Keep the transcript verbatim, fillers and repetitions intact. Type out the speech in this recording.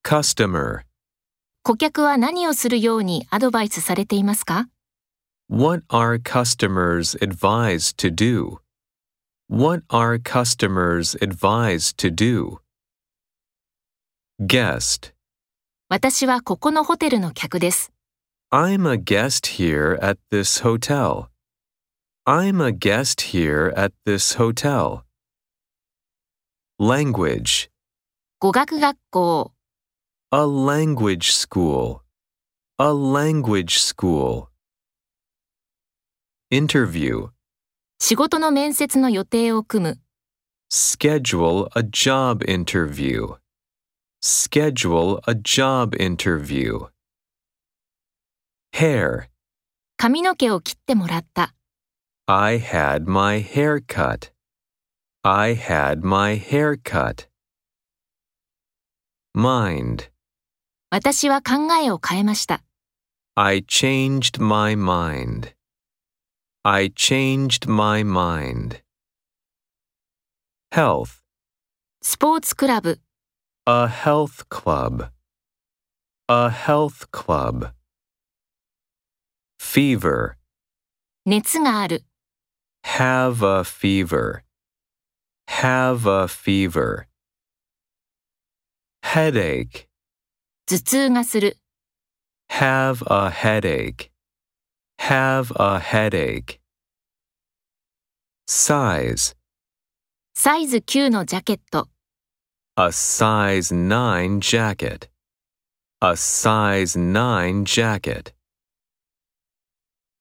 Customer. 顧客は何をするようにアドバイスされていますか？ What are customers advised to do? What are customers advised to do? Guest. 私はここのホテルの客です。 I'm a guest here at this hotel. I'm a guest here at this hotel. Language. 語学学校、 A language school. A language school. Interview. 仕事の面接の予定を組む、 Schedule a job interview. Schedule a job interview. Hair. 髪の毛を切ってもらった、 I had my hair cut. I had my hair cut. Mind. 私は考えを変えました。 I changed my mind. I changed my mind. Health. スポーツクラブ、 A health club. A health club. Fever. 熱がある、 Have a fever. Have a fever. Headache. 頭痛がする、 Have a headache. Have a headache. Size. サイズきゅうのジャケット、 A size nine jacket. A size nine jacket.